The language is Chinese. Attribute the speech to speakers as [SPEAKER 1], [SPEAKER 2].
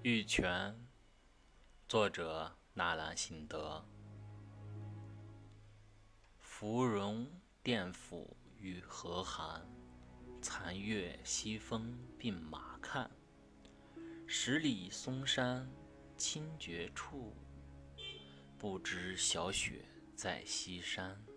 [SPEAKER 1] 玉泉，作者纳兰性德。芙蓉殿府与河寒，残月西风鬓马看。十里松山清绝处，不知小雪在西山。